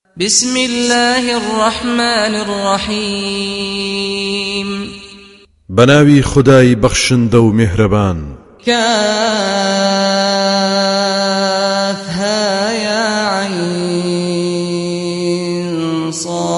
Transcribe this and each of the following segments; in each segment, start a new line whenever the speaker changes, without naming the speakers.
بسم الله الرحمن الرحيم
بناوي خداي بخشن دو مهربان
كافها يا عين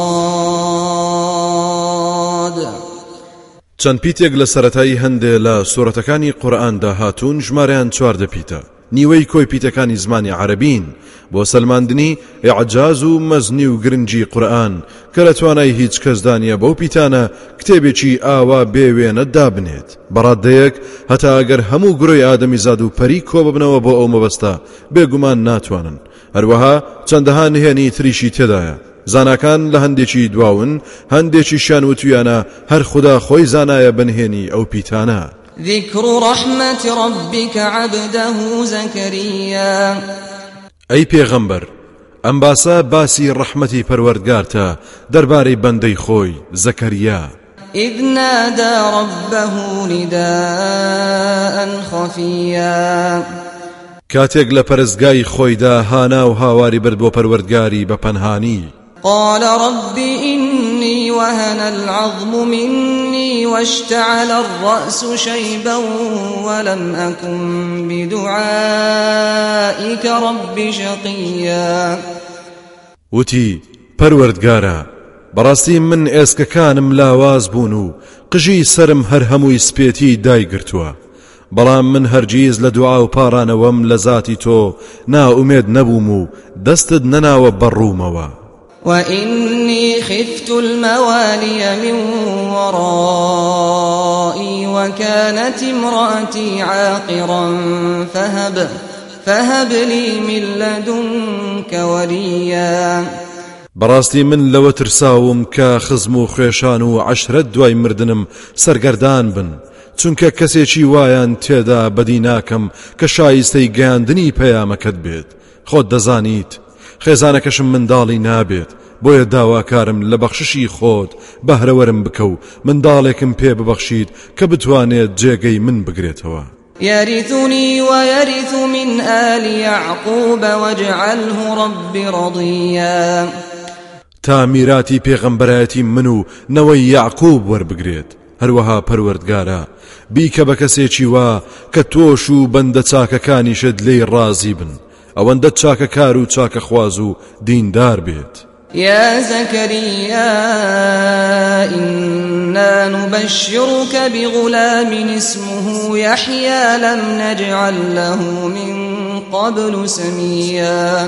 صاد
چەند پیتێک لە سەرەتایی هەندێ لە سورەتەکانی قورئاندا هاتوون ژمارەیان 14 پیتە. نیوەی کۆی پیتەکانی زمانی عەرەبین بۆ سەلماندنی ئیعجاز و مەزنی و گرنگی قورئان کە لە توانای هیچ کەسدا نییە بەو پیتانە کتێبێکی ئاوا بێوێنە دابنێت. بەڕادەیەک هەتا ئەگەر هەموو گرۆی ئادەمیزاد و پەری کۆ ببنەوە بۆ ئەو مەبەستە بێگومان ناتوانن. هەروەها چەندەها نهێنی تریشی تێدایە. زاناکان لە هەندێکی دواون، هەندێکیشیان وتویانە هەر خدا خۆی زانایە بنهێنی ئەو پیتانە.
ذكر رحمة ربك عبده زكريا
أي پیغمبر ئەم باسە باسی ڕەحمەتی پەروەردگارتە دەربارەی بەندەی خۆی زەکەریا.
إذ نادى ربه نداء خفيا
کاتێک لە پەرستگای خۆیدا هانا و هاواری برد بۆ پەروەردگاری بە پەنهانی.
قال رب إني وهن العظم مني واشتعل الرأس شيبا ولم أكن بدعائك رب شقيا.
وتی پەروەردگارە بەڕاستی من ئێسکەکانم لاواز بوون و قژی سرم هەر هەمووی سپێتی دایگرتووە، بەڵام من هەرگیز لە دوعا و پارانەوەم لە ذاتی تۆ ناومێد نەبووم و دەستت نەناوە بەڕوومەوە.
وإني خفت الموالي من ورائي وكانت امرأتي عاقرا فهب لي من لدنك وليا.
بەڕاستی من لەوە ترساوم کە خزم و خوێشان و عەشرەت دوای مردنم سەرگەردان بن، چونکە کەسێکی وایان تێدا بەدی ناکەم کە شایستەی گەیاندنی پەیامەکەت بێت. خۆت دەزانیت خێزانەکەشم منداڵی نابێت، بۆیە داواکارم لە بەخششی خۆت بەهرەوەرم بکە و منداڵێکم پێ ببەخشیت کە بتوانێت جێگەی من بگرێتەوە.
يرثني ويرث من آل يعقوب واجعله رب رضيا.
تا میراتی پێغەمبەرایەتی من و نەوەی یعقوب وەربگرێت. هەروەها پەروەردگارە بیکە بە کەسێکی وا کە تۆش و بەندە چاکەکانیشت لێی ڕازی بن، ئەوەندە چاکەکار و چاکەخواز و دیندار بێت.
يا زكريا إنا نبشرك بغلام اسمه يحيى لم نجعل له من قبل سميا.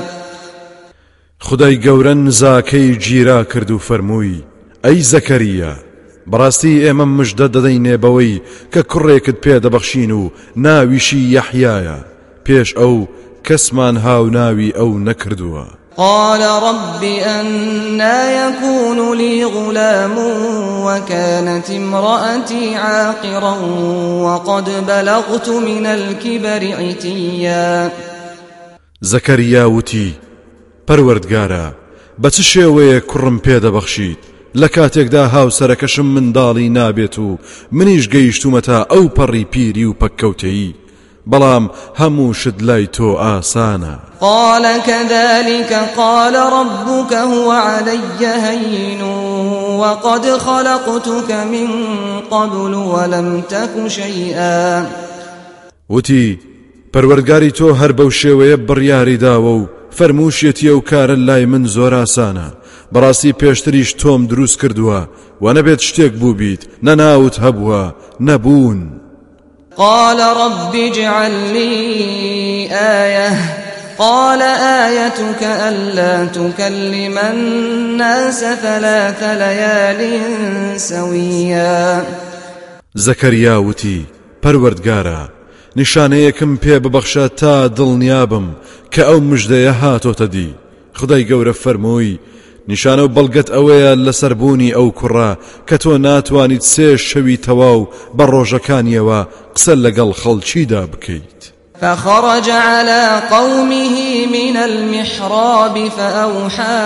خدای گەورە نزاکەی گیرا کرد و فەرمووی ئەی زەکەریا بەڕاستی ئێمە مژدە دەدەینێ بەوەی کە کوڕێکت پێدەبەخشین و ناویشی یەحیایە، پێش ئەو کەسمان هاو ناوی ئەو نەکردووە.
قال رب أنا يكون لي غلام وكانت امرأتي عاقرا وقد بلغت من الكبر عتيا.
زەکەریا وتی پەروەردگارە بە چ شێوەیە کوڕم پێدەبەخشیت لە کاتێکدا هاوسەرەکەشم منداڵی نابێت و منیش گەیشتومەتە ئەو پەڕی پیری و پەککەوتەیی، بەڵام هەموو شت لای تۆ ئاسانە.
قال كذلك قال ربك هو علي هين وقد خلقتك من قبل ولم تك شيئا.
وتی پەروەردگاری تۆ هەر بەو شێوەیە بڕیاری داوە و فەرمووشێتی ئەو کارە لای من زۆر ئاسانە، بەڕاستی پێشتریش تۆم دروست کردووە و نەبێت شتێک بوو بیت نەناوت هەبووە نەبوون.
قال رب اجعل لي آية قال آيتك ألا تكلم الناس 3 ليال سويا. زەکەریا
وتی پەروەردگارە نیشانەیەکم پێ ببەخشە تا دڵنیابم کە ئەو مژدەیە هاتۆتە دی. خدای گەورە فەرمووی نیشانە و بەڵگەت ئەوەیە لەسەربوونی ئەو کوڕە کە تۆ ناتوانیت 3 شەوی تەواو بە ڕۆژەکانیەوە قسە لەگەڵ خەڵکیدا بکەیت.
فخرج على قومه من المحراب فأوحى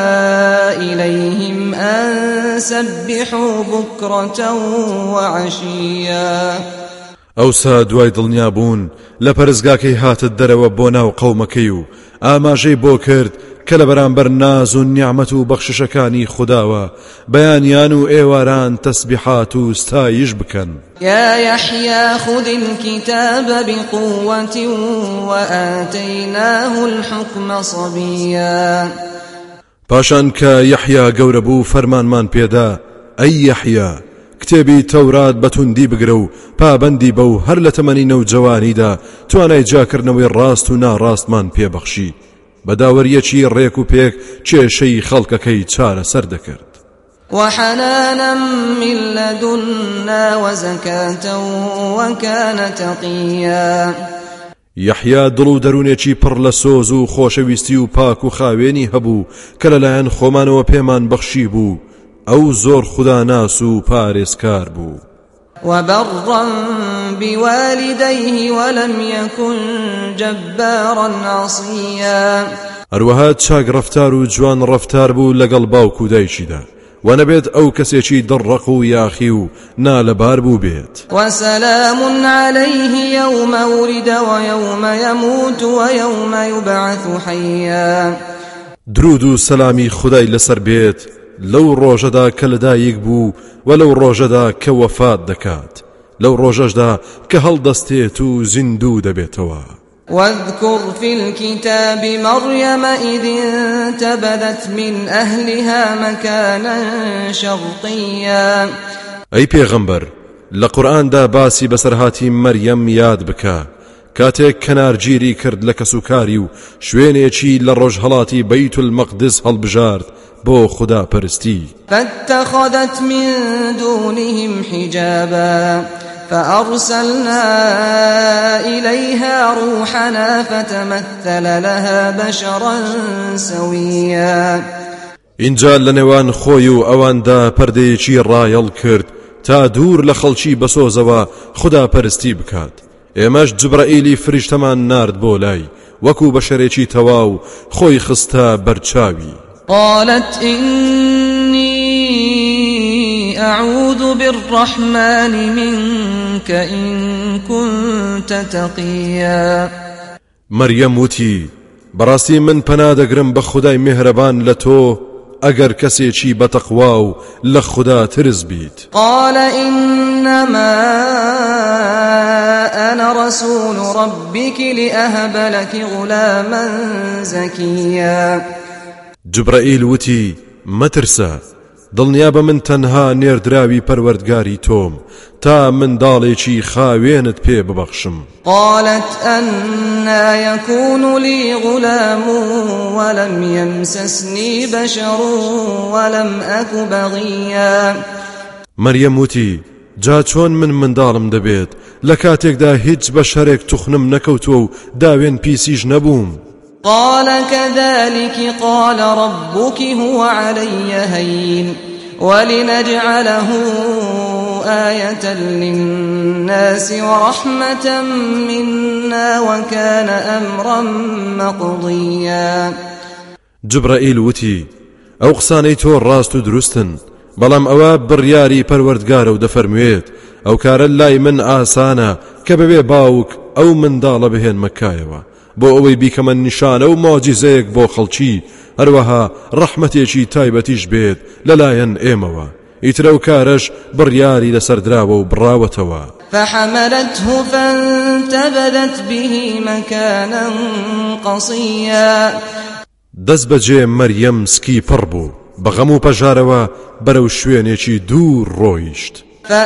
إليهم أن سبحوا بكرة وعشيا.
ئەوسا دوای دڵنیابوون لە پەرستگاکەی هاتت دەرەوە بۆ ناو قەومەکەی و ئاماژەی بۆ کرد کە لە بەرامبەر ناز و نیعمەت و بەخششەکانی خودداوە بەیانیان و ئێواران تەسبیحات و ستایش بکەن.
يا يحيى خذ الكتاب بقوة وآتيناه الحكم صبيا.
پاشان کە یەحیا گەورە بوو فەرمانمان پێدا ئەی یەحیا کتێبی تەورات بەتوندی بگرە و پابەندی بە و هەر لە تەمەنی نەوجەوانیدا توانای جاکردنەوەی ڕاست و ناڕاستمان پێبەخشی بەداوەریەکی ڕێک و پێک کێشەی خەڵکەکەی چارەسەر دەکرد.
وحنانا من لدنا وزكاة وكان تقيا.
یەحیا دڵ و دەروونێکی پڕ لە سۆز و خۆشەویستی و پاک و خاوێنی هەبوو کە لەلایەن خۆمانەوە پێمان بەخشی بوو ئەو زۆر خوداناس و پارێزکار بوو.
وبرا بوالديه ولم يكن جبارا عصيا.
هەروەها چاک ڕەفتار و جوان ڕەفتار بوو لەگەڵ باوک و دایکیدا و نەبێت ئەو کەسێکی دڕەق و یاخی و نالەبار بوو بێت.
وسلام عليه يوم ولد ويوم يموت ويوم يبعث حيا.
درود و سەلامی خودای لەسەر بێت لەو ڕۆژەدا کە لەدایک بوو و لەو ڕۆژەدا کە وەفات دەکات لەو ڕۆژەشدا کە هەڵدەستێت و زیندوو دەبێتەوە.
واذكر في الكتاب مريم إذ انتبذت من أهلها مكانا شرقيا.
أي پیغمبر لقرآن دا باسی بسرهاتی مریم یاد بکا کاتێک کەنارگیری کرد لە کەسوکاری و شوێنێکی لە ڕۆژهەڵاتی بەیت المەقدس هەڵبژارد بۆ خدا پەرستی.
فاتخذت من دونهم حجابا فأرسلنا إليها روحنا فتمثل لها بشرا سويا.
اینجا لەنێوان خۆی و ئەواندا پەردەیەکی ڕایەڵ کرد تا دوور لە خەڵکی بەسۆزەوە خدا پەرستی بکات. ئێمەش جبرائیلی فریشتەمان نارد بۆ لای وەکو بەشەرێکی تەواو خۆی خستە بەرچاوی.
قالت إني أعوذ بالرحمن منك إن كنت تقيا.
مريم وتی بەڕاستی من پەنادەگرم بە خودای میهرەبان لە تۆ ئەگەر کەسێکی بەتەقوا و لە خوددا ترس بیت.
قال إنما أنا رسول ربك لأهب لك غلاما زكيا.
جبرائیل وتی مەترسە دڵنیابە من تەنها نێردراوی پەروەردگاری تۆم تا منداڵێکی خاوێنت پێ ببەخشم.
قالت أنا يكون لي غلام ولم يمسسني بشر ولم أك بغيا.
مريم وتی جا چۆن من منداڵم دەبێت لە کاتێکدا هیچ بەشەرێک توخنم نەکەوتووە و داوێن پیسیش نەبووم.
قال كذلك قال ربك هو علي هين ولنجعله آية للناس ورحمة منا وكان أمرا مقضيا.
جبرائيل وتي ئەو قسانەی تۆ ڕاست و دروستن بەڵام ئەوە بڕیاری پەروەردگارە و دەفەرموێت ئەو کارە لای من ئاسانە کە بەبێ باوک ئەو منداڵە بهێن مەکایەوە بۆ ئەوەی بیکەمە نیشانە و مۆجیزەیەک بۆ خەڵکی هەروەها ڕەحمەتێکی تایبەتیش بێت لەلایەن ئێمەوە ئیترە و کارەش بڕیاری لەسەردراوە و بڕاوەتەوە.
فحملته فانتبذت به مكانا قصيا.
دەست بەجێ مەریەم سکی پڕ بوو بەغەم و پەژارەوە بەرەو شوێنێکی دوور ڕۆیشت.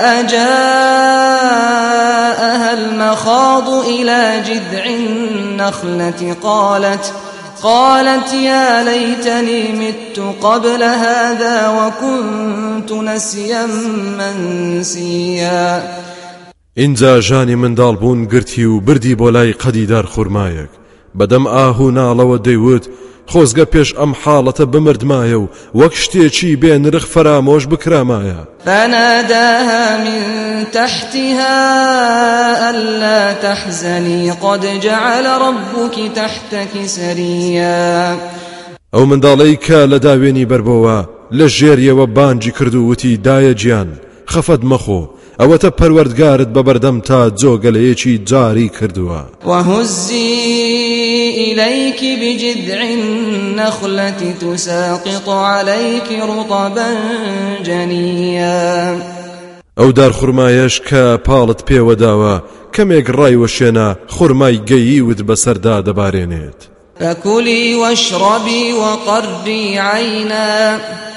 فأجاءها المخاض إلى جذع النخلة قالت يا ليتني مت قبل هذا وكنت نسيا منسيا.
اینجا ژانی منداڵ بوون گرتی و بردی بۆ لای قەدیدار خورمایەک بەدەم ئاهو ناڵەوە دەیوت خۆزگە پێش ئەم حاڵەتە بمردمایە و وەک شتێکی بێ نرخ فرامۆش بکرامایە.
فناداها من تحتها ألا تحزني قد جعل ربك تحتك سريا.
ئەو منداڵەی کە لە داوێنی بەربەوە لە ژێریەوە بانجی کرد و وتی دایە گیان خەفەت مەخۆ ئەوەتە پەروەردگارت بەبەردەم تا جۆگەلەیەکی جاری کردووە.
وهزي إليك بجذع النخلة تساقط عليك رطبا جنيا.
ئەو دار خوڕمایەش کە پاڵت پێوەداوە کەمێک ڕایوەشێنە خوڕمای گەییوت بەسەردا دەبارێنێت.
فكلي واشربي وقري عينا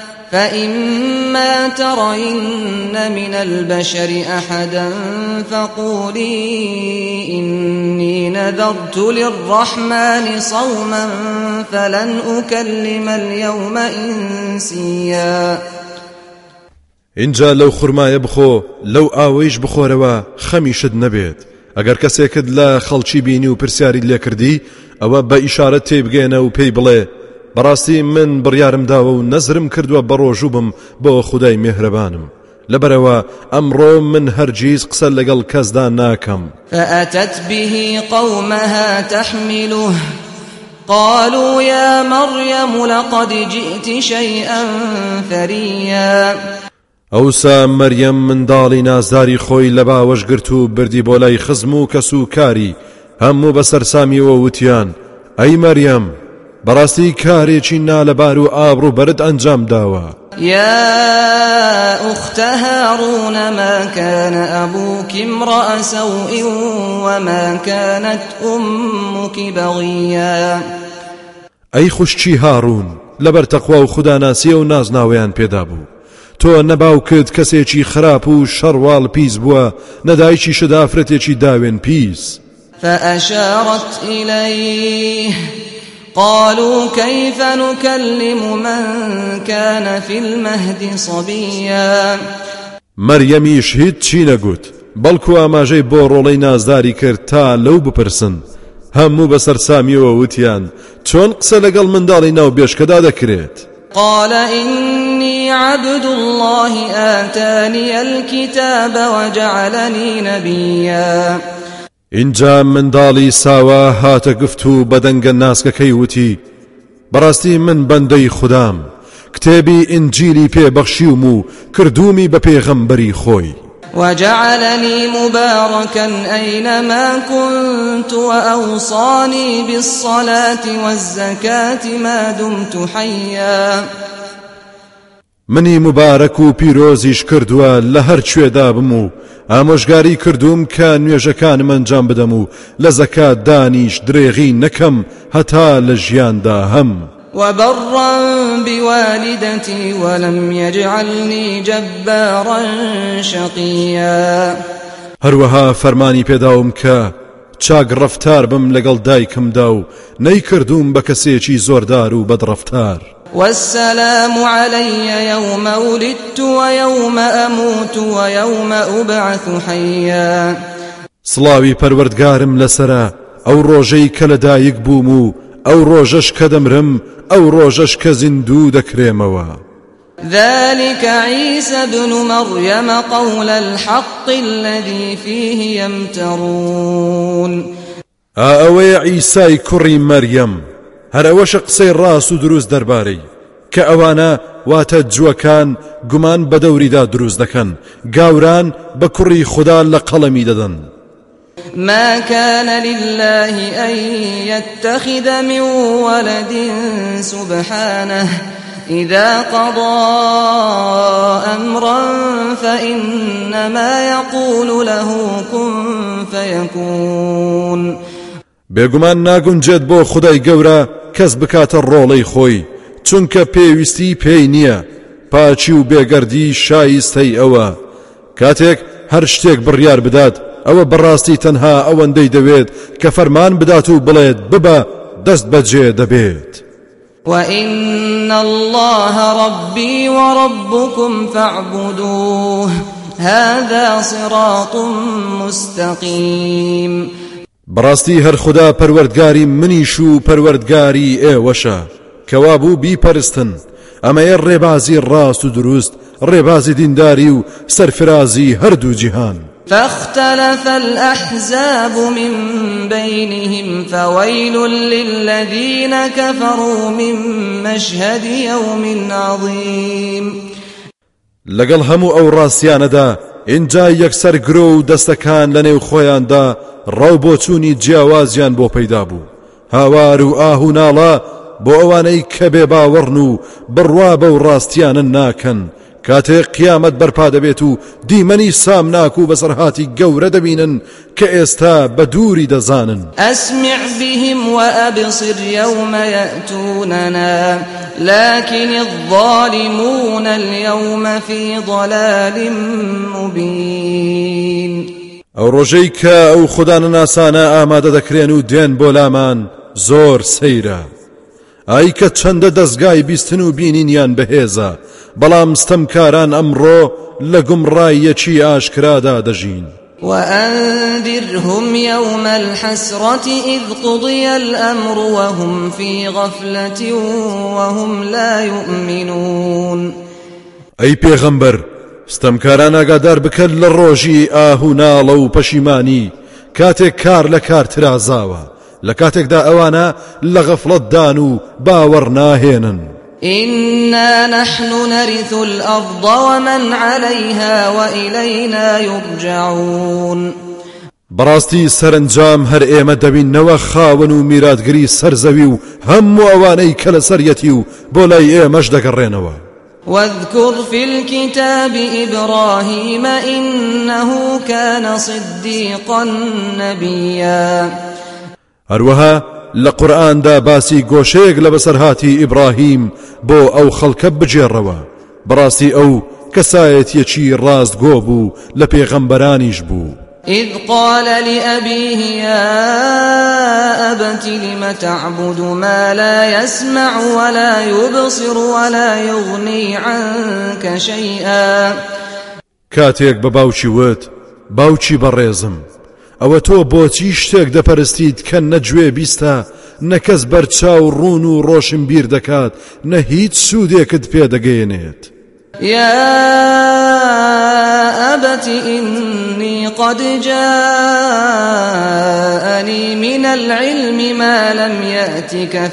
فإما ترين من البشر أحدا فقولي إني نذرت للرحمن صوما فلن أكلم اليوم إنسيا.
اینجا لەو خوڕمایە بخۆ لەو ئاوەیش بخۆرەوە خەمیشت نەبێت. ئەگەر کەسێکت لە خەڵکی بینی و پرسیاری لێ کردی ئەوە بە ئیشارەت تێبگەێنە و پێی بڵێ بەڕاستی من بڕیارم داوە و نەزرم کردووە بەڕۆژوو بم بۆ خودای میهرەبانم لەبەرەوە ئەمڕۆ من هەرگیز قسە لەگەڵ کەسدا ناکەم.
فأتت به قومها تحمله قالوا يا مريم لقد جئت شيئا فريا.
ئەوسا مەریەم منداڵی نازداری خۆی لە باوەش گرت و بردی بۆ لای خزم و کەس و کاری هەموو بەسەرسامیەوە وتیان ئەی مەریەم بەڕاستی کارێکی نالەبار و ئابڕوو بەرد ئەنجام داوە.
يا أخت هارون ما كان أبوك امرأ سوء وما كانت أمك بغيا.
ئەی خوشکی هاڕون لەبەر تەقوا و خوداناسیە و نازناویان پێدا بوو تۆ نەباوکت کەسێکی خراپ و شەڕواڵ پیس بووە نەدایکی شدافرەتێکی داوێن پیس.
فأشارت إليه قالوا كيف نكلم من كان في المهد صبيا.
مەریەمیش هیچ چی نەگوت بەڵکو ئاماژەی بۆ ڕۆڵەی نازداری کرد تا لەو بپرسن. هەموو بەسەرسامیەوە وتیان چۆن قسە لەگەڵ منداڵی ناو بێشکەدا دەکرێت.
قال إني عبد الله آتاني الكتاب وجعلني نبيا.
اینجا منداڵی ساوا هاتە گفت و بەدەنگە ناسکەکەی وتی بەڕاستی من بەندەی خودام کتێبی ئینجیلی پێبەخشیوم و کردومی بە پێغەمبەری خۆی.
وجعلني مباركا أينما كنت وأوصاني بالصلاة والزكاة ما دمت حيا.
منی مبارەک و پیرۆزیش کردووە لە هەر کوێدا بم و ئامۆژگاری کردوم کە نوێژەکانم ئەنجام بدەم و لە زەکات دانیش درێغی نەکەم هەتا لە ژیاندا هەم.
وبرا بوالدتي ولم يجعلني جبارا شقيا.
هەروەها فەرمانی پێداوم کە چاک ڕەفتار بم لەگەڵ دایکمدا و نەیکردوم بە کەسێکی زۆردار و بەدڕەفتار.
والسلام علي يوم ولدت ويوم أموت ويوم أبعث حيا.
سڵاوی پەروەردگارم لەسرە ئەو ڕۆژەی کە لەدایک بووم و ئەو ڕۆژەش کە دەمرم ئەو ڕۆژەش کە زیندوو دەکرێمەوە.
ذلك عيسى ابن مريم قول الحق الذي فيه يمترون.
ئەوەیە عیسای کوڕی مەریەم هەر ئەوەشە قسەی ڕاست و دروست دەربارەی کە ئەوانە واتە جووەکان گومان بە دەوریدا دروست دەکەن گاوران بە کوڕی خوددا لە قەڵەمی دەدەن.
ما كان لله أن يتخذ من ولد سبحانه إذا قضى أمرا فإنما يقول له كن فيكون.
بێگومان ناگونجێت بۆ خودای گەورە کەس بکاتە ڕۆڵەی خۆی چونکە پێویستی پێی نییە پاچی و بێگەردی شایستەی ئەوە کاتێک هەر شتێک بڕیار بدات ئەوە بەڕاستی تەنها ئەوەندەی دەوێت کە فەرمان بدات و بڵێت ببە دەست بەجێ دەبێت.
وإن الله ربي وربكم فاعبدوه هذا صراط مستقيم.
بەڕاستی هەر خوددا پەروەردگاری منیش و پەروەردگاری ئێوەشە کەوا بوو بیپەرستن ئەمەیە ڕێبازی ڕاست و دروست ڕێبازی دینداری و سەرفرازی هەردوو جیهان.
فاختلف الأحزاب من بينهم فويل للذين كفروا من مشهد يوم عظيم.
لەگەڵ هەموو ئەو ڕاستیانەدا اینجا یەکسەر گرۆ و دەستەکان لە نێو خۆیاندا ڕاو بۆچوونی جیاوازیان بۆ پەیدا بوو. هاوار و ئاه و ناڵە بۆ ئەوانەی کە بێ باوەڕن و بڕوا بەو ڕاستیانە ناکەن. کاتێک قیامەت بەرپا دەبێت و دیمەنی سامناک و بەسەرهاتی گەورە دەبینن کە ئێستا بە دووری دەزانن.
أسمع بهم وأبصر يوم يأتوننا لكن الظالمون اليوم في ضلال مبين.
ئەو ڕۆژەی کە ئەو خوددانە ناسانە ئامادە دەکرێن و دێن بۆ لامان زۆر سەیرە. ئای کە چەندە دەستگای بیستن و بینینیان بەهێزە، بەڵام ستەمکاران ئەمڕۆ لە گومڕایەکی ئاشکرادا دەژین.
وأنذرهم يوم الحسرة إذ قضي الأمر وهم في غفلة وهم لا يؤمنون.
ئەی پێغەمبەر، ستەمکاران ئاگادار بکەن لە ڕۆژی ئاه و ناڵە و پەشیمانی کاتێک کار لە کار ترازاوە، لە کاتێکدا ئەوانە لە غەفڵەتدان و باوەڕ ناهێنن.
إنا نحن نرث الأرض ومن عليها وإلينا يرجعون.
بەڕاستی سەرنجام هەر ئێمە دەبینەوە خاوەن و میراتگری سەرزەوی و هەموو ئەوانەی کە لە سەریەتی و بۆ لای ئێمەش دەگەڕێنەوە.
واذكر في الكتاب إبراهيم إنه كان صديقا نبيا.
هەروەها لە قورئاندا باسی گۆشەیەک لە بەسەرهاتی ئیبراهیم بۆ ئەو خەڵکە بجێڕەوە. بەڕاستی ئەو کەسایەتیەکی ڕاستگۆ بوو لە پێغەمبەرانیش بوو.
إذ قال لأبيه يا أبت لم تعبد ما لا يسمع ولا يبصر ولا يغني عنك شيئا.
کاتێک بە باوکی وت، باوکی بەڕێزم، ئەوە تۆ بۆچی شتێک دەپەرستیت کە نەگوێ بیستە، نەکەس بەرچاو ڕوون و ڕۆشن بیر دەکات، نە هیچ سوودێکت پێدەگەیەنێت.
يا أبت إني قد جاءني من العلم ما لم يأتك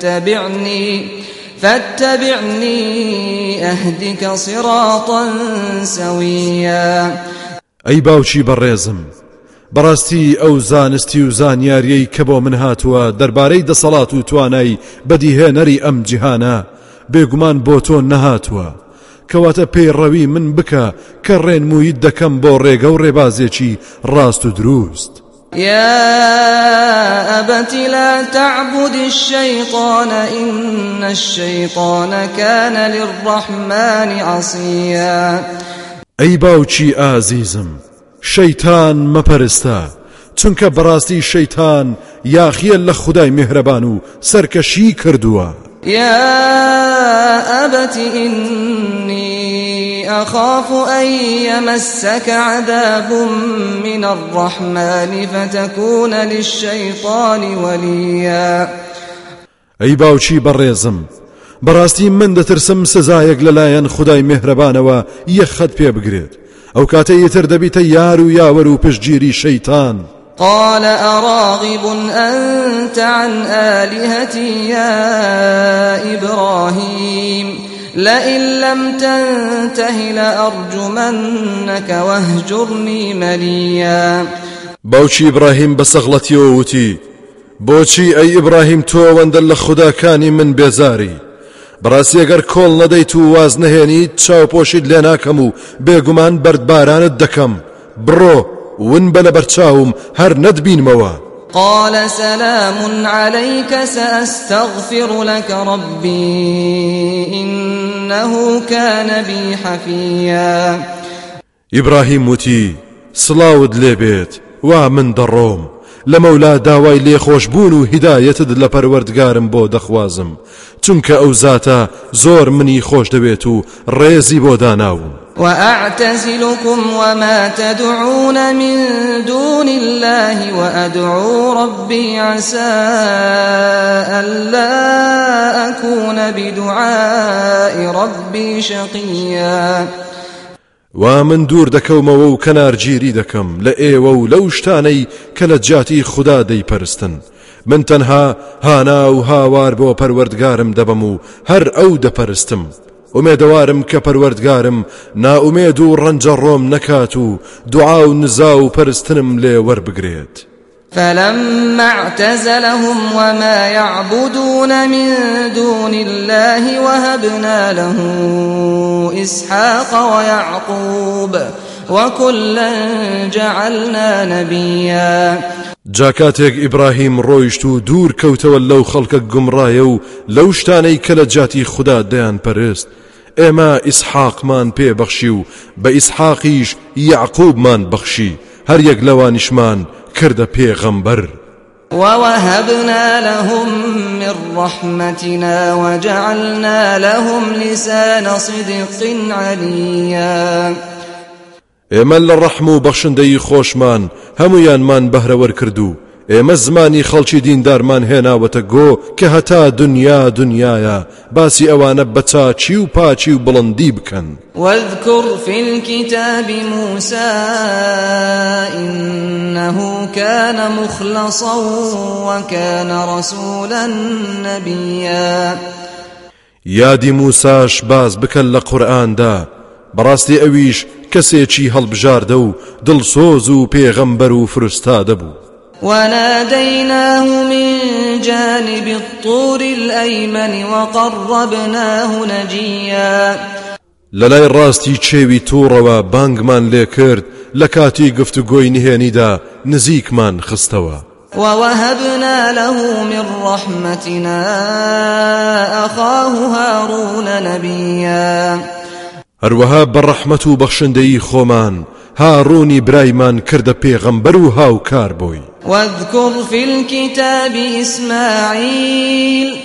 فاتبعني أهدك صراطا سويا.
ئەی باوکی بەڕێزم، بەڕاستی ئەو زانستی و زانیاریەی کە بۆ من هاتووە دەربارەی دەسەڵات و توانای بەدیهێنەری ئەم جیهانە بێگومان بۆ تۆ نەهاتووە، کەواتە پەیڕەوی من بکە کە ڕێنموویت دەکەم بۆ ڕێگە و ڕێبازێکی ڕاست و دروست.
يا أبت لا تعبد الشيطان إن الشيطان كان للرحمن عصيا.
ئەی باوکی ئازیزم، شەیتان مەپەرستە، چونکە بەڕاستی شەیتان یاخیە لە خودای میهرەبان و سەرکەشی کردووە.
يا أبت إني أخاف أن يمسك عذاب من الرحمن فتكون للشيطان وليا.
ئەی باوکی بەڕێزم، بەڕاستی من دەترسم سزایەک لەلایەن خودای میهرەبانەوە یەخەت پێ بگرێت، ئەو کاتە یەتر دەبیتە یار و یاوەر و پشتگیری شەیتان.
قال أراغب أنت عن آلهتي يا إبراهيم لئن لم تنته لأرجمنك واهجرني مليا.
باوکی ئیبراهیم بەسەغڵەتیەوە وتی، بۆچی ئەی ئیبراهیم تۆ ئەوەندە لە خوداکانی من بێزاری؟ بەڕاستی ئەگەر کۆڵ نەدەیت و واز نەهێنیت چاوپۆشیت لێ ناکەم و بێگومان بەردبارانت دەکەم. بڕۆ ون بە لەبەرچاوم هەر نەتبینمەوە.
قال سلام عليك سأستغفر لك ربي إنه كان بي حفيا.
ئیبراهیم وتی، سڵاوت لێبێت، وا من دەڕۆم، لە مەولا داوای لێخۆشبوون و هیدایەتت لە پەروەردگارم بۆ دەخوازم، چونکە ئەو زاتە زۆر منی خۆش دەوێت و ڕێزی بۆ داناوم.
وأعتزلكم وما تدعون من دون الله وأدعو ربي عسى ألا أكون بدعاء ربي شقيا.
ومن دوور دەکەومەوە و کەنارگیری دەکەم لە ئێوە و لەو شتانەی کە لە جیاتی خوددا دەیپەرستن. من تەنها هانا و هاوار بۆ پەروەردگارم دەبم و هەر ئەو دەپەرستم، ومێدەوارم کە پەروەردگارم ناومێد و ڕەنجە ڕۆم نەکات و دوعا و نزا و پەرستنم لێ وەربگرێت.
فلما اعتزلهم وما يعبدون من دون الله وهبنا له إسحاق ويعقوب وكلا جعلنا نبيا.
جاکاتێک ئیبراهیم ڕۆیشت و دوور کەوتەوە لەو خەڵکە گومڕایە و لەو شتانەی کە لە جاتی خوددا دەیان پەرست، ئێمە ئیسحاقمان پێبەخشی و بە ئیسحاقیش یعقوبمان بەخشی، هەر یەک لەوانیشمان کردە پێغەمبەر.
ووهبنا لهم من رحمتنا وجعلنا لهم لسان صدق عليا.
ئێمە لە ڕەحم و بەخشندەی خۆشمان هەمویانمان بەهرەوەر کردو، ئێمە زمانی خەڵکی دیندارمان هێناوەتە گۆ کە هەتا دنیا دنیایە باسی ئەوانە بە چاچی و پاچی و بڵندی بکەن.
واذكر في الكتاب موسى إنه كان مخلصا وكان رسولا نبيا.
یادی موساش باز بکەن لە قورئاندا، بەڕاستی ئەویش کەسێکی هەڵبژاردە و دڵسۆز و پێغەمبەر و فرستادە بوو.
وناديناه من جانب الطور الأيمن وقربناه نجيا.
لەلای ڕاستی چێوی تووڕەوە بانگمان لێ کرد، لە کاتی گفتوگۆی نهێنیدا نزیکمان خستەوە.
ووهبنا له من رحمتنا أخاه هارون نبيا.
هەروەها بەڕەحمەت و بەخشندەی خۆمان هاڕوونی برایمان کردە پێغەمبەر و هاوکار بووی.
واذكر في الكتاب إسماعيل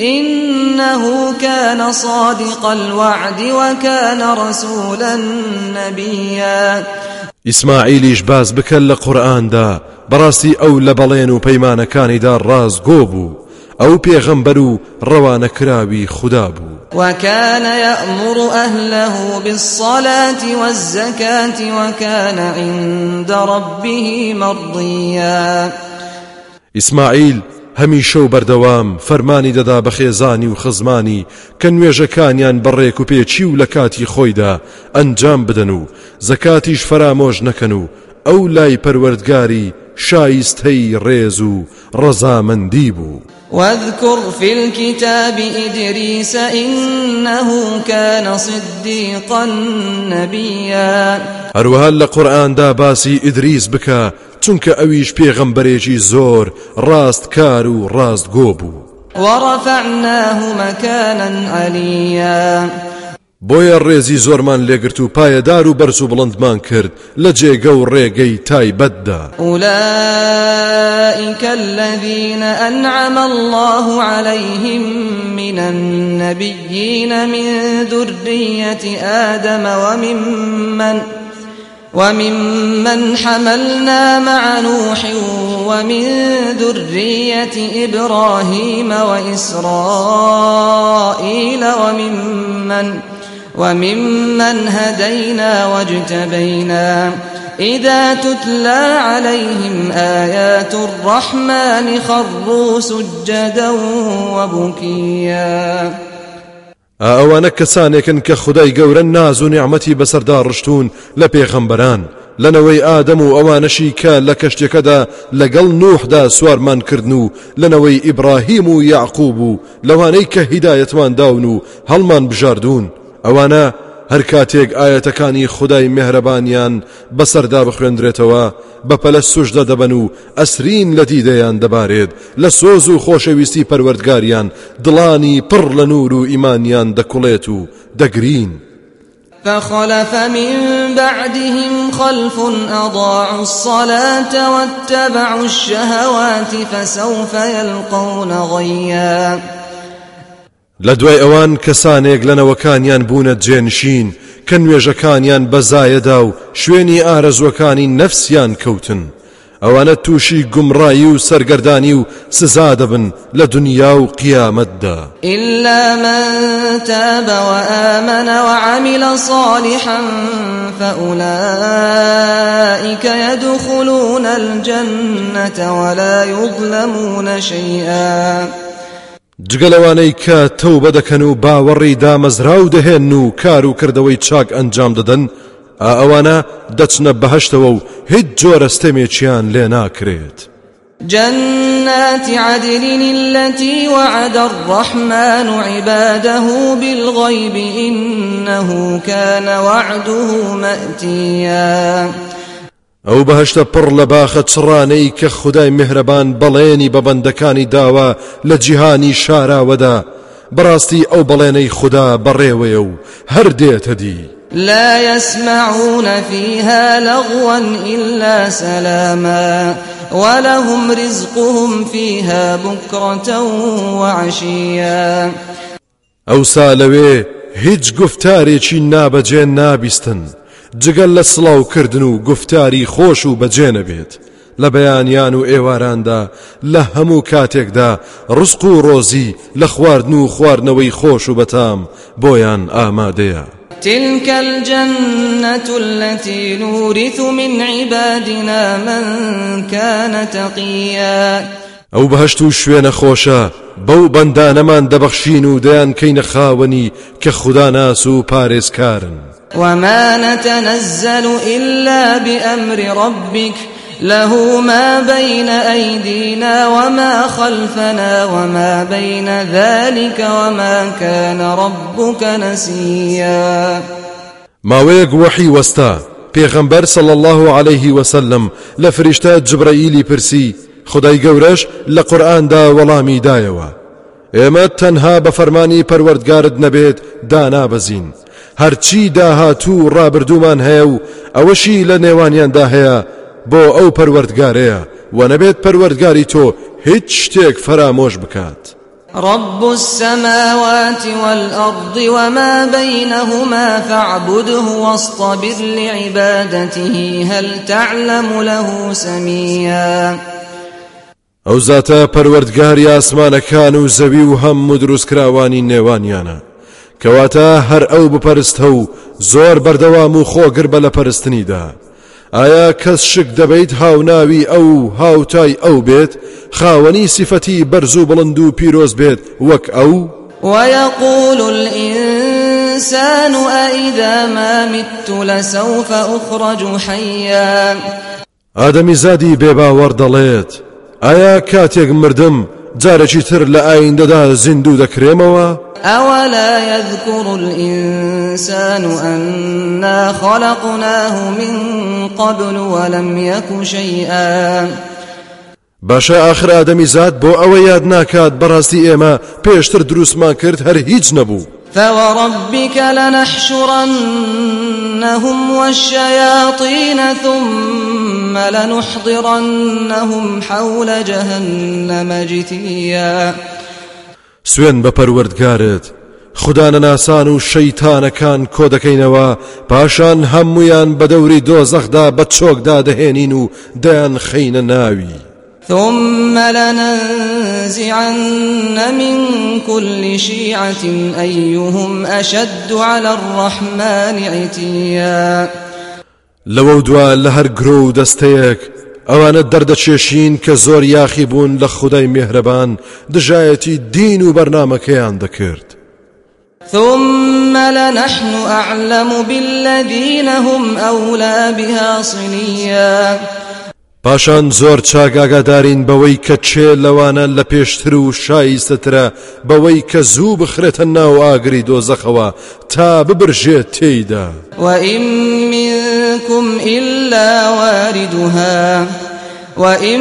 إنه كان صادق الوعد وكان رسولا نبيا.
ئیسماعیلیش باز بکەن لە قورئاندا، بەڕاستی ئەو لە بەڵێن و پەیمانەکانیدا ڕازگۆ بوو، ئەو پێغەمبەر و ڕەوانەکراوی خوددا بوو.
وكان يأمر أهله بالصلاة والزكاة وكان عند ربه مرضيا.
ئیسماعیل هەمیشە و بەردەوام فەرمانی دەدا بە خێزانی و خزمانی کە نوێژەکانیان بەڕێک و پێچی و لە کاتی خۆیدا ئەنجام بدەن و زەکاتیش فرامۆژ نەکەن و ئەو لای پەروەردگاری شایستەی ڕێز و ڕەزامەندی بوو.
واذكر في الكتاب إدريس إنه كان صديقا نبيا.
هەروەها لە قورئاندا باسی ئیدریس بکە، چونکە ئەویش پێغەمبەرێکی زۆر ڕاستکار و ڕاستگۆ بوو.
ورفعناه مكانا عليا.
بۆیە ڕێزی زۆرمان لێگرت و پایەدار و بەرز و بڵندمان کرد لە جێگە و ڕێگەی تایبەتدا.
أولئك الذين أنعم الله عليهم من النبيين من ذرية آدم وممن حملنا مع نوح ومن ذرية إبراهيم وإسرائيل وممن هدينا واجتبينا إذا تتلى عليهم آيات الرحمن خروا سجدا وبكيا.
ئەوانە کەسانێکن کە خودای گەورە ناز و نیعمەتی بەسەردا ڕشتون لە پێغەمبەران، لەنەوەی ئادەم و ئەوانەشی کە لە کەشتێکەدا لەگەڵ نوحدا سوارمان کردن و لەنەوەی ئیبراهیم و یعقوب و لەوانەی کە هیدایەتمان داون و هەڵمان بژاردون، ئەوانە هەر کاتێک ئاەتەکانی خودای مێهرەبانیان بەسەردا بخوێندرێتەوە بەپەلە سوژدە دەبەن و ئەسرین لە دیدەیان دەبارێت، لە سۆز و خۆشەویستی پەروەردگاریان دڵانی پڕ لە نور و ئیمانیان دەکوڵێت و دەگرین.
فخلف من بعدهم خلف أضاعوا الصلاة واتبعوا الشهوات فسوف يلقون غيا.
لدوای ئەوان کەسانێک لەنەوەکانیان بوونە جێنشین کە نوێژەکانیان بەزایەدا و شوێنی ئارەزوەکانی نەفسیان کەوتن، ئەوانە تووشی گومڕایی و سەرگەردانی و سزا دەبن لە دنیا و قیامەتدا.
إلا من تاب وآمن وعمل صالحا فأولئك يدخلون الجنة ولا يظلمون شيئا.
جگەلەوانەی کە تەوبە دەکەن و باوەڕی دامەزراو دەهێن و کار و کردەوەی چاک ئەنجام دەدەن، ئەوانە دەچنە بەهەشتەوە و هیچ جۆرە ستەمێکیان لێ ناکرێت.
جنات عدن التي وعد الرحمن عباده بالغيب إنه كان وعده مأتيا.
ئەو بەهەشتە پڕ لە باخە چڕانەی کە خودای میهرەبان بەڵێنی بە بەندەکانی داوە لە جیهانی شاراوەدا، بەڕاستی ئەو بەڵێنەی خوددا بەڕێوەیە و هەر دێتە دی.
لا يسمعون فيها لغوا إلا سلاما ولهم رزقهم فيها بكرة وعشيا.
ئەوسا لەوێ هیچ گفتارێکی نابەجێ نابیستن جگەل لە سڵاوکردن و گفتاری خۆش و بەجێ نەبێت. لە بەیانیان و ئێواراندا لە هەموو کاتێکدا ڕزق و ڕۆزی لە خواردن و خواردنەوەی خۆش و بەتام بۆیان ئامادەیە.
تلك الجنة التي نورث من عبادنا من كان تقيا.
ئەو بەهەشت و شوێنە خۆشە بەو بەندانەمان دەبەخشین و دەیان کەینە خاوەنی کە خوددا ناس و پارێزکارن.
وما نتنزل إلا بأمر ربك له ما بين أيدينا وما خلفنا وما بين ذلك وما كان ربك نسيا.
ماوەیەک وحی وەستا پێغەمبەر صلى الله عليه وسلم لە فریشتە جبرائیلی پرسی خدای گەورەش لە قورئاندا وەڵامی دایەوە ئێمە تەنها بە فەرمانی پەروەردگارت نەبێت دانابەزین هەرچی داهاتوو ڕابردوومان هەیە و ئەوەشی لە نێوانیاندا هەیە بۆ ئەو پەروەردگارەیە و نەبێت پەروەردگاری تۆ هیچ شتێک فرامۆش بکات.
رب السماوات والأرض وما بينهما فاعبده واصطبر لعبادته هل تعلم له سميا.
ئەو زاتە پەروەردگاری ئاسمانەکان و زەوی و هەموو دروستکراوانی نێوانیانە کەواتە هەر ئەو بپەرستە و زۆر بەردەوام و خۆگر بە لە پەرستنیدا. ئایا کەس شک دەبیت هاوناوی ئەو هاوتای ئەو بێت خاوەنی سیفەتی بەرز و بڵند و پیرۆز بێت وەک ئەو؟
ويقول الإنسان أإذا ما مت لسوف أخرج حيا.
ئادەمی زادی بێباوەڕ دەڵێت ئایا کاتێک مردم جارێکی تر لە ئایندەدا زیندوو دەکرێمەوە؟
أولا يذكر الإنسان أنا خلقناه من قبل ولم يك شيئا.
باشا آخر آدمی زاد بۆ ئەوە یاد ناکات بەڕاستی ئێمە پێشتر دروستمان کرد هەر هیچ نەبوو.
فوربك لنحشرنهم والشياطين ثم لنحضرنهم حول جهنم جثيا.
سوێن بە پەروەردگارت خوددا نەناسان و شەیتانەکان کۆ دەکەینەوە پاشان هەمویان بە دەوری دۆزەخدا بە چۆکدا دەهێنین و دەیان خەینە ناوی.
ثم لننزعن من كل شيعة أيهم أشد على الرحمن عتيا.
لەوە دوا لە هەر گرۆ و دەستەیەک ئەوانە دەردەچێشین کە زۆر یاخی بوون لە خودای میهرەبان دژایەتی دین و بەرنامەکەیان دەکرد.
ثم لنحن أعلم بالذين هم أولى بها صليا.
پاشان زۆر چاگاگادارین بەوەی کە چێ لەوانە لە پێشتر و شایستەترە بەوەی کە زوو بخرێتە ناو ئاگری دۆزەخەوە تا ببرژێت تێیدا.
وإن منكم إلا واردها وإن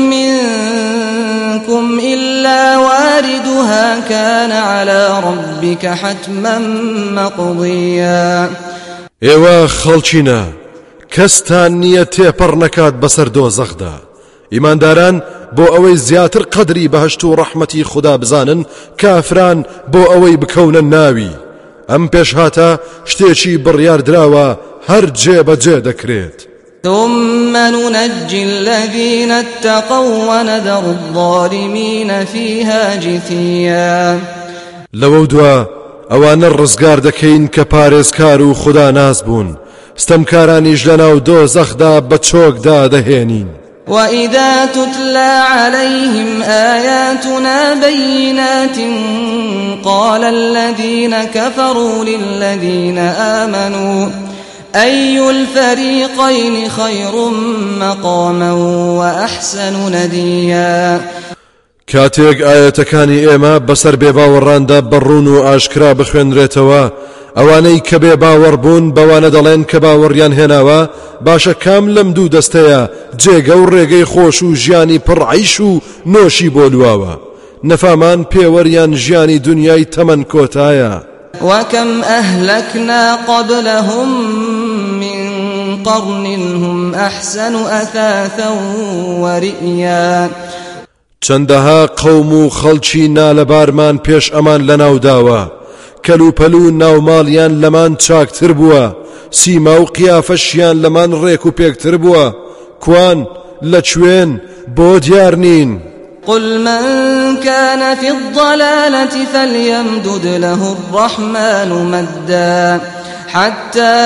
منكم إلا واردها كان على ربك حتما مقضيا.
ئێوە خەڵچینە کەستان نییە تێپەڕ نەکات بەسەر دۆزەخدا. ئیمانداران بۆ ئەوەی زیاتر قەدری بەهەشت و ڕەحمەتی خوددا بزانن کافران بۆ ئەوەی بکەونە ناوی. ئەم پێشهاتە شتێکی بڕیاردراوە هەر جێبەجێ دەکرێت.
ثم ننجي الذين اتقوا ونذر الظالمين فيها جثيا.
لەوە دوا ئەوانە ڕزگار دەکەین کە پارێزکار و خوددا ناز بوون ستەمکارانیش لەناو دۆزەخدا بە چۆکدا دەهێنین.
وإذا تتلى عليهم آياتنا بينات قال الذين كفروا للذين آمنوا أي الفريقين خير مقاما وأحسن نديا.
کاتێک ئاەتەکانی ئێمە بەسەر بێباوەڕاندا بەڕوون و ئاشکرا بخوێنرێتەوە، ئەوانەی کە بێ باوەڕ بوون بەوانە دەڵێن کە باوەڕیان هێناوە باشە کام لەم دوو دەستەیە جێگە و ڕێگەی خۆش و ژیانی پڕعیش و نۆشی بۆ لواوە، نەفامان پێوەریان ژیانی دنیای تەمەن کۆتایە.
وكم أهلكنا قبلهم من قرن هم أحسن أثاثا ورئيا.
چەندەها قەوم و خەڵکی نالەبارمان پێش ئەمان لەناوداوە، کەلوپەلو ناوماڵیان لەمان چاکتر بووە، سیما و قیافەشیان لەمان ڕێک و پێکتر بووە، کوان لەکوێن بۆ دیار نین.
قل من كان في الضلالة فليمدد له الرحمن مدا حتى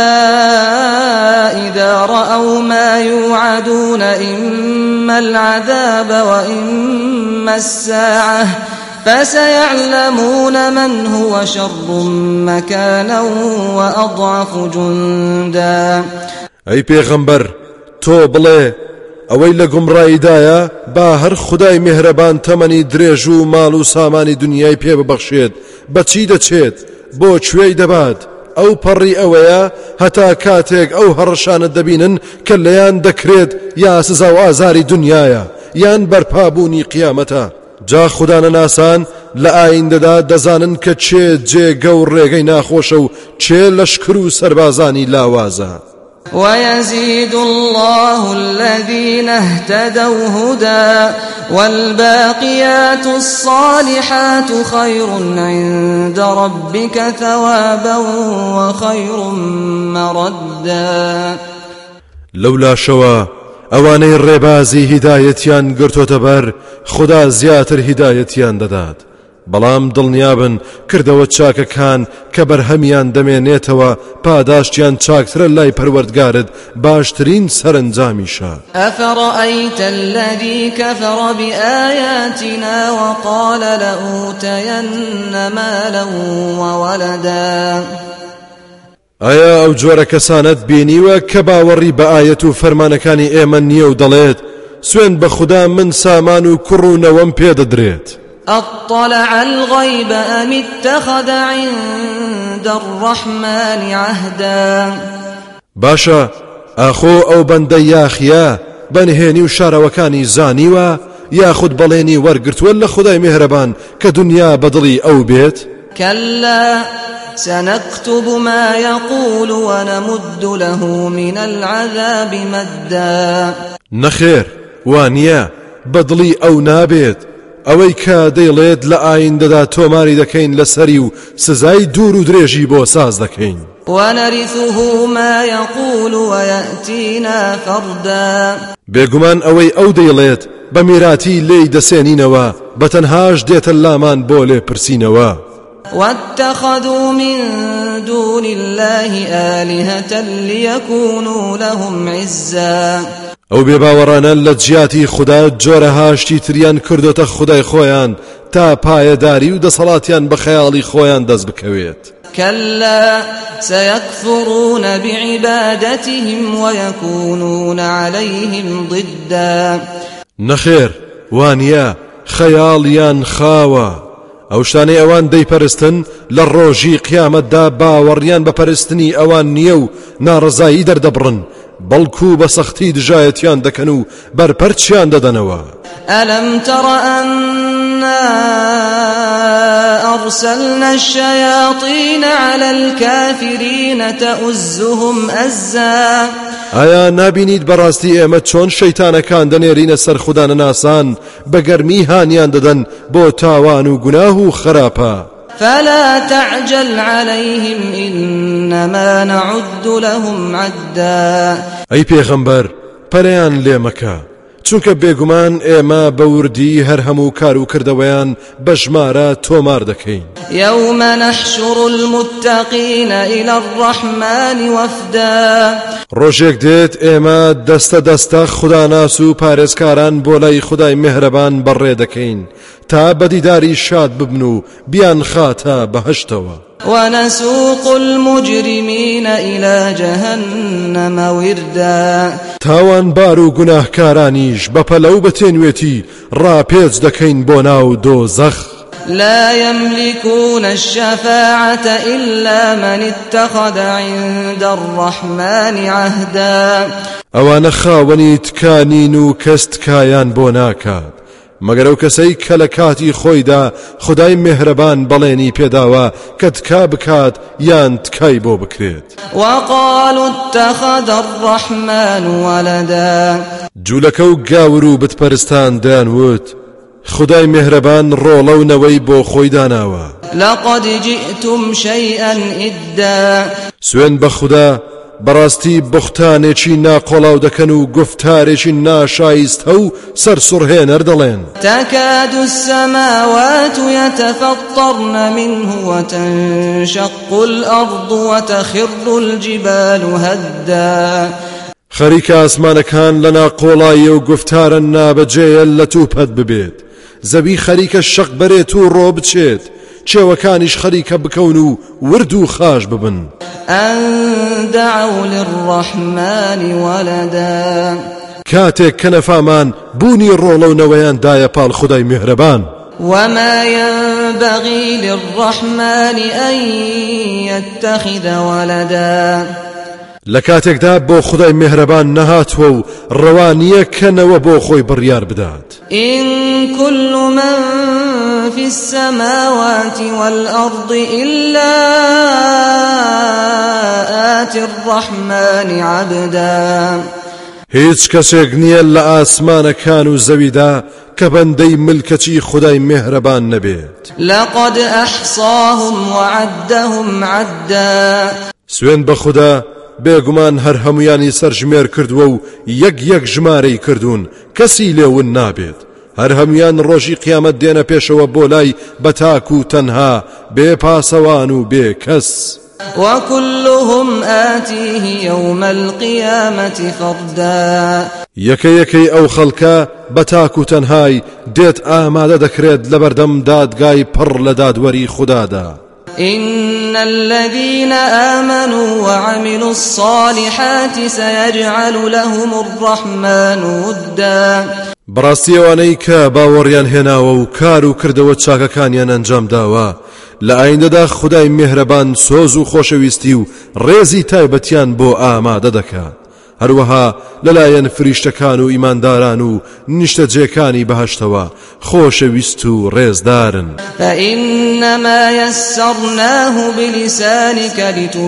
إذا رأوا ما يوعدون إما العذاب وإما الساعة فسيعلمون من هو شر مكانا وأضعف جندا.
أي پیغمبر تو بڵێ ئەوەی لە گومڕاییدایە با هەر خودای میهرەبان تەمەنی درێژ و ماڵ و سامانی دنیای پێ ببەخشێت بەچی دەچێت بۆ کوێی دەبات. ئەو پەڕی ئەوەیە هەتا کاتێک ئەو هەڕەشانە دەبینن کە لەیان دەکرێت یا سزا و ئازاری دنیایە یان بەرپابوونی قیامەتە. جا خوددانە ناسان لە ئایندەدا دەزانن کە چێ جێگە و ڕێگەی ناخۆشە و چێ لەشکر و سەربازانی لاوازە.
ويزيد الله الذين اهتدوا هدى والباقيات الصالحات خير عند ربك ثوابا وخير مردا. لولا
شوا ئەوانەی ڕێبازی هیدایەتیان گرتۆتە بەر خدا زیاتر هیدایەتیان دەدات، بەڵام دڵنیابن کردەوە چاکەکان کە بەرهەمیان دەمێنێتەوە پاداشتیان چاکترە لای پەروەردگارت باشترین سەرنجامیشە.
ئەفەڕەئەیتە الذی کەفەڕە بئایاتنا وقال لأوتەیەنە مالا وولدا.
ئایا ئەو جۆرە کەسانت بینیوە کە باوەڕی بە ئایەت و فەرمانەکانی ئێمە نییە و دەڵێت سوێن بە خوددا من سامان و کوڕ و نەوەم پێدەدرێت؟
أطلع الغيب أم اتخذ عند الرحمن عهدا.
باشا ئاخۆ ئەو بەندە یاخیە بەنهێنی و شارەوەکانی زانیوە یاخود بەڵێنی وەرگرتووە لە خودای میهرەبان کە دنیا بەدڵی ئەو بێت؟
كلا سنكتب ما يقول ونمد له من العذاب مدا.
نەخێر وانە بەدڵی ئەو نابێت، ئەوەی کە دەیڵێت لە ئایندەدا تۆماری دەکەین لەسەری و سزای دوور و درێژی بۆ ساز دەکەین.
ونرثه ما يقول ويأتينا فردا.
بێگومان ئەوەی ئەو دەیڵێت بە میراتی لێی دەسێنینەوە بەتەنهاش دێتە لامان بۆ لێ پرسینەوە.
واتخذوا من دون الله آلهة ليكونوا لهم عزا.
ئەو بێباوەڕانە لە جیاتی خوددا جۆرە هاشتی تریان کردوتە خودای خۆیان تا پایەداری و دەسەڵاتیان بە خەیاڵی خۆیان دەست بکەوێت.
كلا سيكفرون بعبادتهم ويكونون عليهم ضدا.
نەخێر وانە خەیاڵیان خاوە، ئەو شتانەی ئەوان دەیپەرستن لە ڕۆژی قیامەتدا باوەڕیان بە پەرستنی ئەوان نییە و ناڕزایی دەردەبڕن، بەڵکو بە سەختی دژایەتیان دەکەن و بەرپەرچیان دەدەنەوە.
ألم تر أنا أرسلنا الشياطين على الكافرين تؤزهم أزا.
ئایا نابینیت بەڕاستی ئێمە چۆن شەیتانەکان دەنێرینە سەر خوددانە ناسان بە گەرمی هانیان دەدەن بۆ تاوان و گوناه و خراپە.
فلا تعجل عليهم إنما نعد لهم عدا.
ئەی پێغەمبەر پەرەیان لێ مەکە، چونکە بێگومان ئێمە بەوردی هەر هەموو کار و کردەوەیان بە ژمارە تۆمار دەکەین.
يوم نحشر المتقين إلى الرحمن وفدا
ڕۆژێک دێت ئێمە دەستە دەستە خوداناس و پارێزکاران بۆ لای خودای میهرەبان بەڕێ دەکەین تا بەدیداری شاد ببن و بیان خاتە بەهەشتەوە.
ونسوق المجرمين إلى جهنم وردا
تاوان بار و گوناهکارانیش بەپەلەو بەتێنوێتی ڕاپێچ دەکەین بۆ ناو دۆزەخ.
لا يملكون الشفاعة إلا من اتخذ عند الرحمن عهدا
ئەوانە خاوەنی تکانین و کەس تکایان بۆ ناکات مەگەر ئەو کەسەی کە لە کاتی خۆیدا خدای مهرەبان بەڵێنی پێداوە کە تکا بکات یان تکای بۆ بکرێت.
وقالوا اتخذ الرحمن ولدا
جوولەکە و گاور و بتپەرستان دەیانوت خدای مهرەبان ڕۆڵە و نەوەی بۆ خۆی داناوە.
لقد جئتم شيئا إدا
سوێن بە خوددا بەڕاستی بوختانێکی ناقۆڵاو دەکەن و گفتارێکی ناشایستە و سەرسوڕهێنەر دەڵێن.
تكاد السماوات يتفطرن منه وتنشق الأرض وتخر الجبال هدا
خەریکە ئاسمانەکان لە ناقۆڵایی و گفتارە نابەجێیە لە تووپەت ببێت زەوی خەریکە شەق بەرێت و ڕۆ بچێت چێوەکانیش خەریکە بکەون و ورد و خاش ببن.
أن دعوا للرحمن ولدا
کاتێک کە نەفامان بوونی ڕۆڵە و نەوەیان دایە پاڵ خدای میهرەبان.
وما ينبغي للرحمن أن يتخذ ولدا
لە کاتێکدا بۆ خدای میهرەبان نەهاتوە و ڕەوانیە کەنەوە بۆ خۆی بڕیار بدات.
إن كل من في السماوات والأرض إلا آتي الرحمن عبدا
هیچ کەسێک نییە لە ئاسمانەکان و زەویدا کە بەندەی ملکەتی خدای میهرەبان نەبێت.
لقد أحصاهم وعدهم عدا
سوێن بە خوددا بێگومان هەر هەمویانی سەرژمێر کردووە و یەک ژمارەی کردوون کەسی لێون نابێت. هەر هەمویان ڕۆژی قیامەت دێنە پێشەوە بۆ لای بەتاک و تەنها بێ پاسەوان و بێ کەس.
وكلهم آتيه يوم القيامة فردا
یەکەی ئەو خەڵکە بەتاک و تەنهای دێت ئامادە دەکرێت لە بەردەم دادگای پڕ لە دادوەری خوددادا.
إن الذين آمنوا وعملوا الصالحات سيجعل لهم الرحمن ودا
بەڕاستی ئەوانەی کە باوەڕیان هێناوە و کار و کردەوە چاکەکانیان ئەنجام داوە لە ئایندەدا خدای میهرەبان سۆز و خۆشەویستی و ڕێزی تایبەتیان بۆ ئامادە دەکات. هەروەها لەلایەن فریشتەکان و ئیمانداران و نیشتەجێکانی بەهەشتەوە خۆشەویست و ڕێزدارن.
فإنما يسرناه بلسانك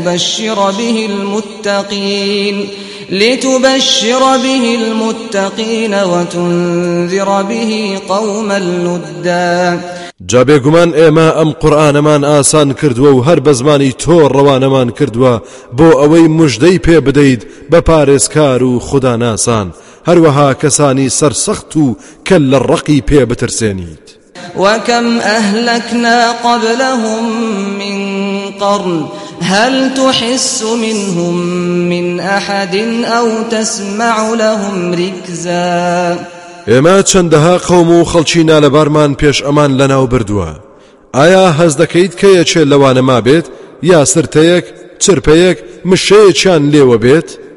لتبشر به المتقين وتنذر به قوما لدا
جا بێگومان ئێمە ئەم قورئانەمان ئاسان کردووە و هەر بە زمانی تۆ ڕەوانەمان کردووە بۆ ئەوەی موژدەی پێ بدەیت بە پارێزکار و خوداناسان هەروەها کەسانی سەرسەخت و کە لە ڕقی پێ بترسێنیت.
وكم أهلكنا قبلهم من قرن هل تحس منهم من أحد أو تسمع لهم ركزا
ئێمە چەندەها قەوم و خەڵکی نالەبارمان پێش ئەمان لەناو بردووە. ئایا هەز دەکەیت کە یەکێ لەوانە ما بێت یا سرتەیەک چرپەیەک مشەیەکیان لێوە بێت؟